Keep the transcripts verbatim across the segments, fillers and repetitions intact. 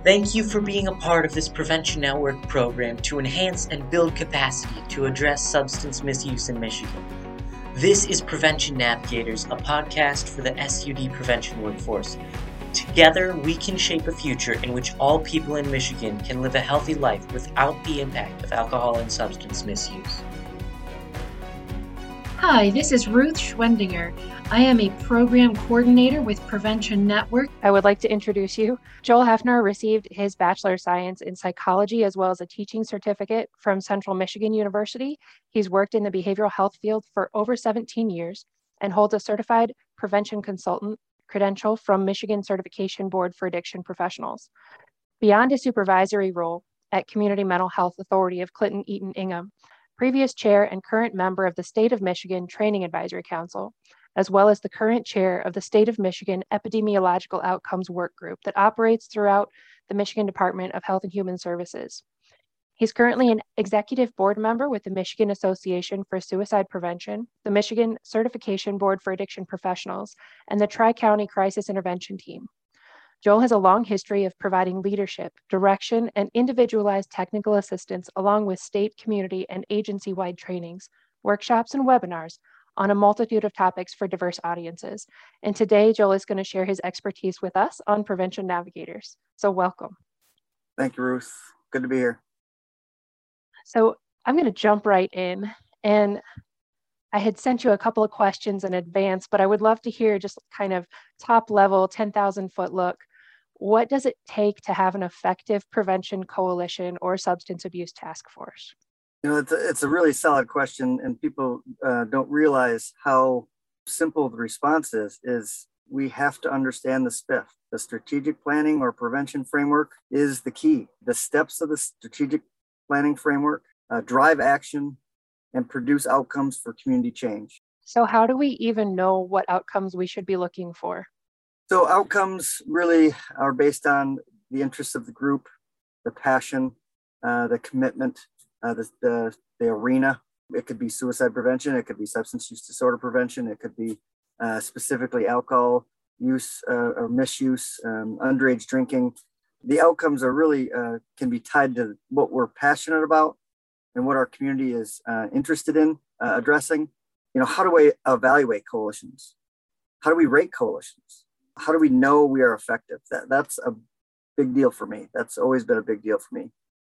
Thank you for being a part of this Prevention Network program to enhance and build capacity to address substance misuse in Michigan. This is Prevention Navigators, a podcast for the S U D prevention workforce. Together, we can shape a future in which all people in Michigan can live a healthy life without the impact of alcohol and substance misuse. Hi, this is Ruth Schwendinger. I am a program coordinator with Prevention Network. I would like to introduce you. Joel Hefner received his Bachelor of Science in Psychology as well as a teaching certificate from Central Michigan University. He's worked in the behavioral health field for over seventeen years and holds a certified prevention consultant credential from Michigan Certification Board for Addiction Professionals. Beyond his supervisory role at Community Mental Health Authority of Clinton Eaton Ingham, previous chair and current member of the State of Michigan Training Advisory Council, as well as the current chair of the State of Michigan Epidemiological Outcomes Work Group that operates throughout the Michigan Department of Health and Human Services. He's currently an executive board member with the Michigan Association for Suicide Prevention, the Michigan Certification Board for Addiction Professionals, and the Tri-County Crisis Intervention Team. Joel has a long history of providing leadership, direction, and individualized technical assistance along with state, community, and agency-wide trainings, workshops, and webinars on a multitude of topics for diverse audiences. And today, Joel is going to share his expertise with us on Prevention Navigators. So welcome. Thank you, Ruth. Good to be here. So I'm going to jump right in. And I had sent you a couple of questions in advance, but I would love to hear just kind of top level, ten thousand foot look. What does it take to have an effective prevention coalition or substance abuse task force? You know, it's a, it's a really solid question, and people uh, don't realize how simple the response is, is we have to understand the S P I F. The strategic planning or prevention framework is the key. The steps of the strategic planning framework uh, drive action and produce outcomes for community change. So how do we even know what outcomes we should be looking for? So outcomes really are based on the interests of the group, the passion, uh, the commitment, Uh, the, the the arena. It could be suicide prevention, it could be substance use disorder prevention, it could be uh, specifically alcohol use uh, or misuse, um, underage drinking. The outcomes are really uh, can be tied to what we're passionate about and what our community is uh, interested in uh, addressing. You know, how do we evaluate coalitions? How do we rate coalitions? How do we know we are effective? That that's a big deal for me. That's always been a big deal for me.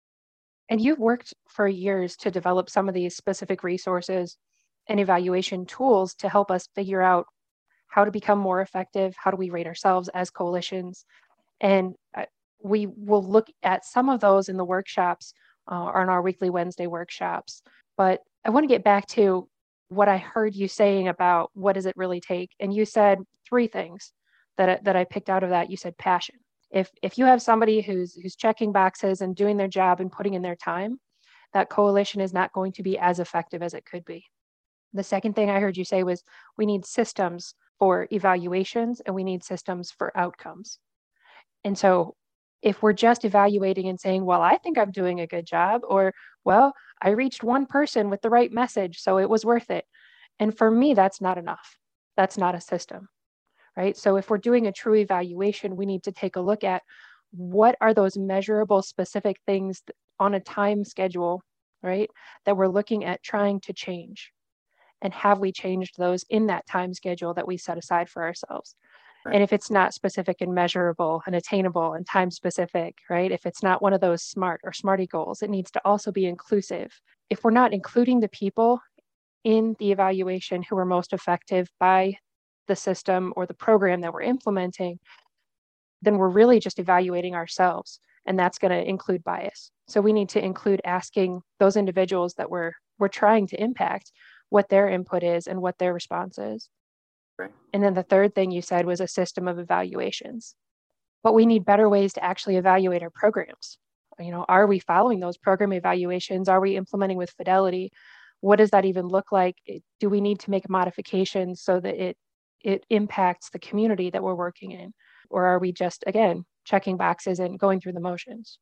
And you've worked for years to develop some of these specific resources and evaluation tools to help us figure out how to become more effective. How do we rate ourselves as coalitions? And we will look at some of those in the workshops uh, or in our weekly Wednesday workshops. But I want to get back to what I heard you saying about what does it really take? And you said three things that I, that I picked out of that. You said passion. If if you have somebody who's who's checking boxes and doing their job and putting in their time, that coalition is not going to be as effective as it could be. The second thing I heard you say was we need systems for evaluations and we need systems for outcomes. And so if we're just evaluating and saying, well, I think I'm doing a good job, or, well, I reached one person with the right message, so it was worth it. And for me, that's not enough. That's not a system. Right? So if we're doing a true evaluation, we need to take a look at what are those measurable specific things on a time schedule, right, that we're looking at trying to change. And have we changed those in that time schedule that we set aside for ourselves? Right. And if it's not specific and measurable and attainable and time specific, right, if it's not one of those SMART or SMARTY goals, it needs to also be inclusive. If we're not including the people in the evaluation who are most effective by the system or the program that we're implementing, then we're really just evaluating ourselves. And that's going to include bias. So we need to include asking those individuals that we're we're trying to impact what their input is and what their response is. Right. And then the third thing you said was a system of evaluations. But we need better ways to actually evaluate our programs. You know, are we following those program evaluations? Are we implementing with fidelity? What does that even look like? Do we need to make modifications so that it it impacts the community that we're working in? Or are we just, again, checking boxes and going through the motions?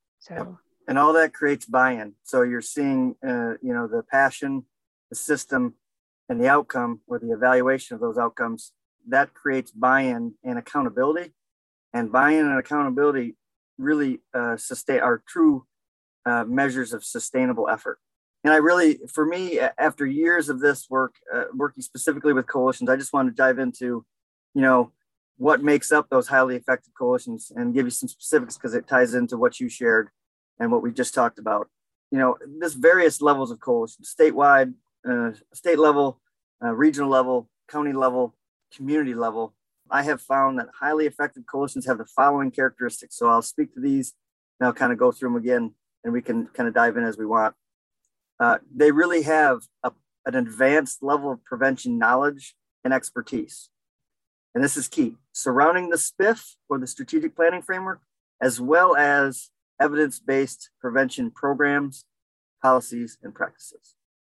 So, and all that creates buy-in. So you're seeing, uh, you know, the passion, the system, and the outcome, or the evaluation of those outcomes, that creates buy-in and accountability. And buy-in and accountability really uh, sustain are true uh, measures of sustainable effort. And I really, for me, after years of this work, uh, working specifically with coalitions, I just want to dive into, you know, what makes up those highly effective coalitions and give you some specifics because it ties into what you shared and what we just talked about. You know, there's various levels of coalitions, statewide, uh, state level, uh, regional level, county level, community level. I have found that highly effective coalitions have the following characteristics. So I'll speak to these and I'll kind of go through them again and we can kind of dive in as we want. Uh, they really have a, an advanced level of prevention knowledge and expertise. And this is key, surrounding the S P I F or the strategic planning framework, as well as evidence-based prevention programs, policies, and practices.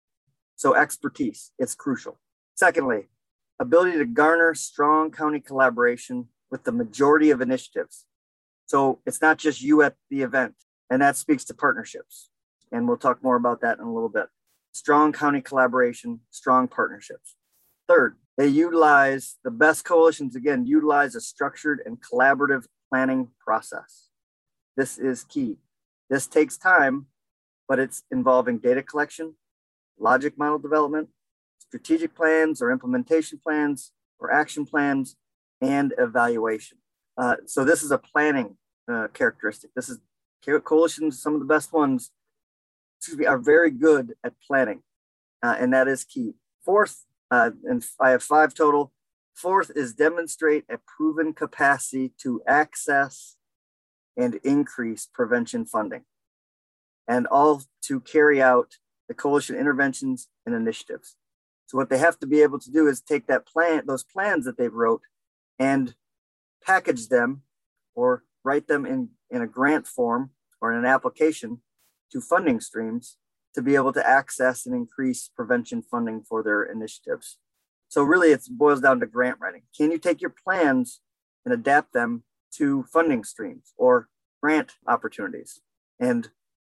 So expertise, it's crucial. Secondly, ability to garner strong county collaboration with the majority of initiatives. So it's not just you at the event, and that speaks to partnerships. And we'll talk more about that in a little bit. Strong county collaboration, strong partnerships. Third, they utilize, the best coalitions, again, utilize a structured and collaborative planning process. This is key. This takes time, but it's involving data collection, logic model development, strategic plans or implementation plans or action plans, and evaluation. Uh, so this is a planning uh, characteristic. This is coalitions, some of the best ones, excuse me, are very good at planning, uh, and that is key. Fourth, uh, and I have five total. Fourth is demonstrate a proven capacity to access and increase prevention funding, and all to carry out the coalition interventions and initiatives. So what they have to be able to do is take that plan, those plans that they've wrote, and package them or write them in, in a grant form or in an application to funding streams to be able to access and increase prevention funding for their initiatives. So really it boils down to grant writing. Can you take your plans and adapt them to funding streams or grant opportunities? And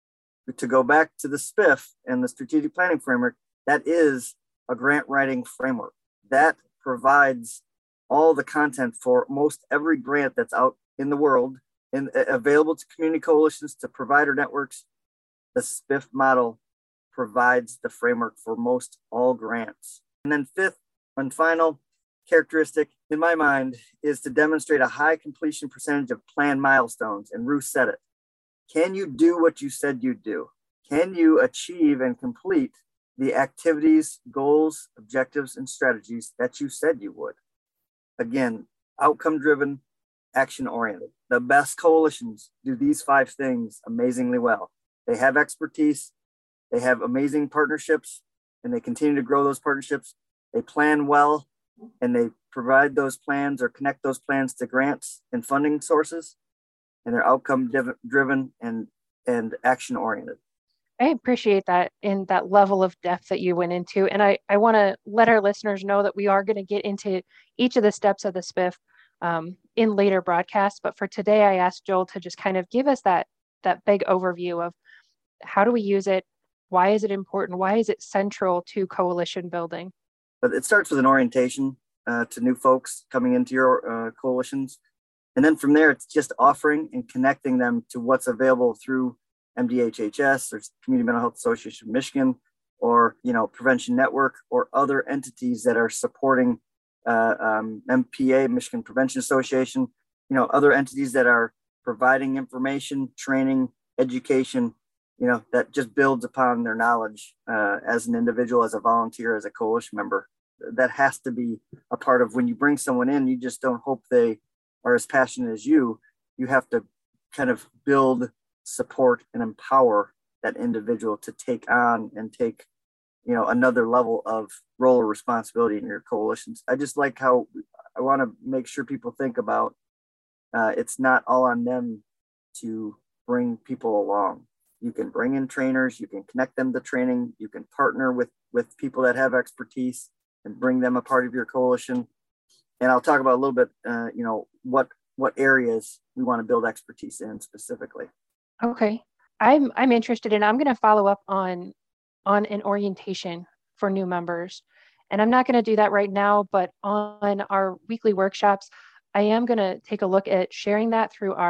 to go back to the S P I F and the strategic planning framework, that is a grant writing framework that provides all the content for most every grant that's out in the world and available to community coalitions, to provider networks. The S P I F model provides the framework for most all grants. And then fifth and final characteristic in my mind is to demonstrate a high completion percentage of planned milestones. And Ruth said it. Can you do what you said you'd do? Can you achieve and complete the activities, goals, objectives, and strategies that you said you would? Again, outcome-driven, action-oriented. The best coalitions do these five things amazingly well. They have expertise, they have amazing partnerships, and they continue to grow those partnerships. They plan well, and they provide those plans or connect those plans to grants and funding sources, and they're outcome-driven and, and action-oriented. I appreciate that in that level of depth that you went into. And I, I want to let our listeners know that we are going to get into each of the steps of the S P I F um, in later broadcasts. But for today, I asked Joel to just kind of give us that, that big overview of how do we use it? Why is it important? Why is it central to coalition building? But it starts with an orientation uh, to new folks coming into your uh, coalitions. And then from there, it's just offering and connecting them to what's available through M D H H S or Community Mental Health Association of Michigan, or, you know, Prevention Network, or other entities that are supporting uh, um, M P A, Michigan Prevention Association, you know, other entities that are providing information, training, education, you know, that just builds upon their knowledge uh, as an individual, as a volunteer, as a coalition member. That has to be a part of when you bring someone in. You just don't hope they are as passionate as you. You have to kind of build, support, and empower that individual to take on and take, you know, another level of role or responsibility in your coalitions. I just like how I want to make sure people think about uh, it's not all on them to bring people along. You can bring in trainers, you can connect them to training, you can partner with, with people that have expertise and bring them a part of your coalition. And I'll talk about a little bit, uh, you know, what what areas we want to build expertise in specifically. Okay. I'm I'm interested in, I'm going to follow up on on an orientation for new members. And I'm not going to do that right now, but on our weekly workshops, I am going to take a look at sharing that through our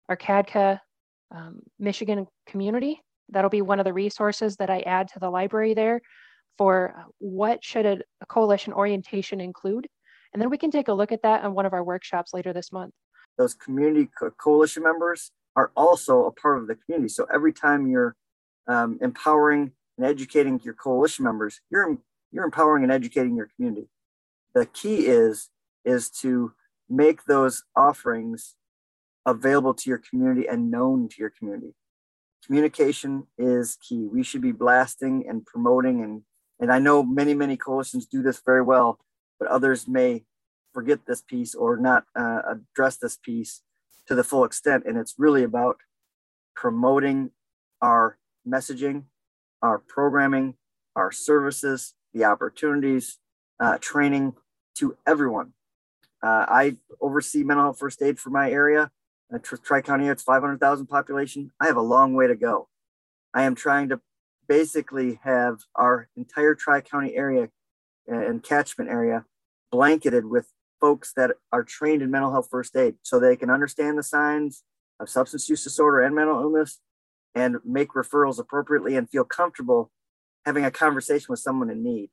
our C A D C A um, Michigan community. That'll be one of the resources that I add to the library there for what should a, a coalition orientation include. And then we can take a look at that on one of our workshops later this month. Those community co- coalition members are also a part of the community. So every time you're um, empowering and educating your coalition members, you're you're empowering and educating your community. The key is is to make those offerings available to your community and known to your community. Communication is key. We should be blasting and promoting, and and I know many many coalitions do this very well, but others may forget this piece or not uh, address this piece to the full extent. And it's really about promoting our messaging, our programming, our services, the opportunities, uh, training to everyone. Uh, I oversee mental health first aid for my area. Uh, Tri-County, it's five hundred thousand population. I have a long way to go. I am trying to basically have our entire Tri-County area and catchment area blanketed with folks that are trained in mental health first aid so they can understand the signs of substance use disorder and mental illness and make referrals appropriately and feel comfortable having a conversation with someone in need.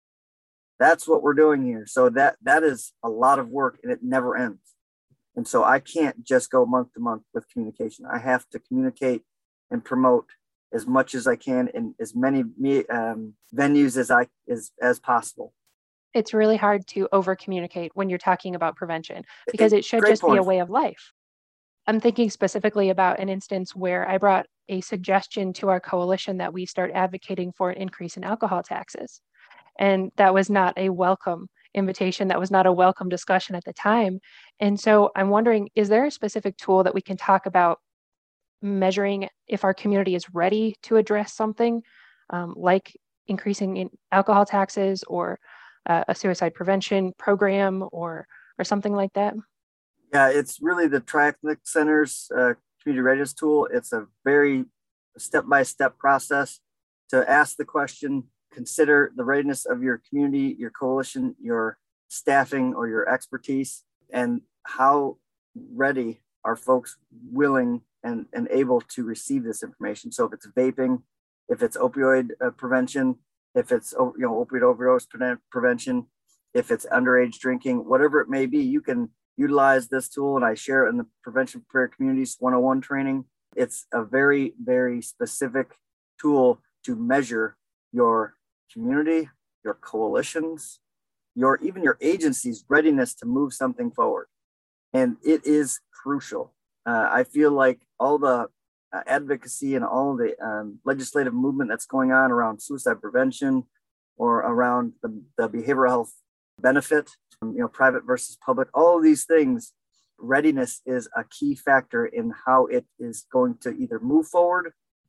That's what we're doing here. So that that is a lot of work, and it never ends. And so I can't just go month to month with communication. I have to communicate and promote as much as I can in as many um, venues as I as as possible. It's really hard to over communicate when you're talking about prevention because it should Great just point. be a way of life. I'm thinking specifically about an instance where I brought a suggestion to our coalition that we start advocating for an increase in alcohol taxes. And that was not a welcome invitation. That was not a welcome discussion at the time. And so I'm wondering, is there a specific tool that we can talk about measuring if our community is ready to address something um, like increasing in alcohol taxes or uh, a suicide prevention program or or something like that? Yeah, it's really the Tri-Ethnic Center's uh, community readiness tool. It's a very step-by-step process to ask the question, consider the readiness of your community, your coalition, your staffing, or your expertise, and how ready are folks willing and, and able to receive this information. So if it's vaping, if it's opioid uh, prevention, if it's you know opioid overdose pre- prevention, if it's underage drinking, whatever it may be, you can utilize this tool, and I share it in the Prevention Prayer Communities one oh one training. It's a very, very specific tool to measure your community, your coalitions, your even your agency's readiness to move something forward. And it is crucial. Uh, I feel like all the uh, advocacy and all the um, legislative movement that's going on around suicide prevention or around the, the behavioral health benefit, um, you know, private versus public, all of these things, readiness is a key factor in how it is going to either move forward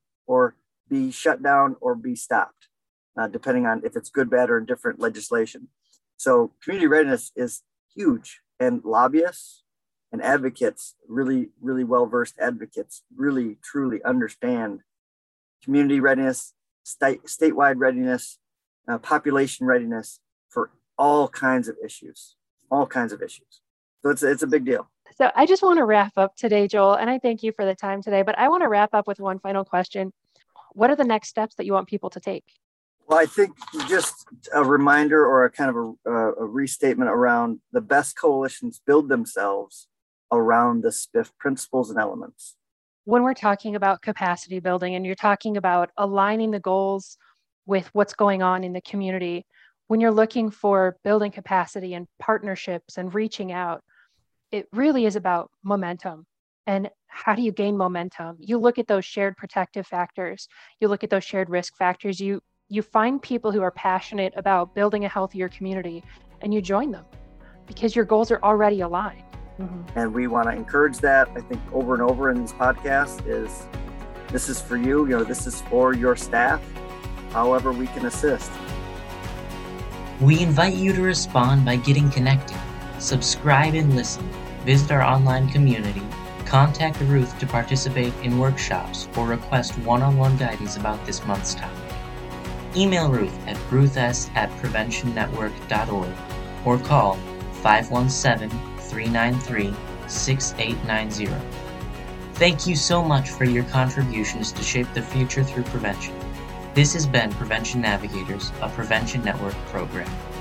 or be shut down or be stopped, uh, depending on if it's good, bad, or different legislation. So community readiness is huge, and lobbyists and advocates, really, really well-versed advocates, really, truly understand community readiness, state, statewide readiness, uh, population readiness for all kinds of issues, all kinds of issues. So it's, it's a big deal. So I just want to wrap up today, Joel, and I thank you for the time today, but I want to wrap up with one final question. What are the next steps that you want people to take? Well, I think just a reminder or a kind of a, a restatement around the best coalitions build themselves around the S P I F principles and elements. When we're talking about capacity building and you're talking about aligning the goals with what's going on in the community, when you're looking for building capacity and partnerships and reaching out, it really is about momentum. And how do you gain momentum? You look at those shared protective factors. You look at those shared risk factors. You you find people who are passionate about building a healthier community, and you join them because your goals are already aligned. Mm-hmm. And we want to encourage that. I think over and over in these podcasts is this is for you. You know, this is for your staff. However, we can assist. We invite you to respond by getting connected. Subscribe and listen. Visit our online community. Contact Ruth to participate in workshops or request one-on-one guidance about this month's topic. Email Ruth at ruths at prevention network dot org or call five one seven, three nine three, six eight nine zero. Thank you so much for your contributions to shape the future through prevention. This has been Prevention Navigators, a Prevention Network program.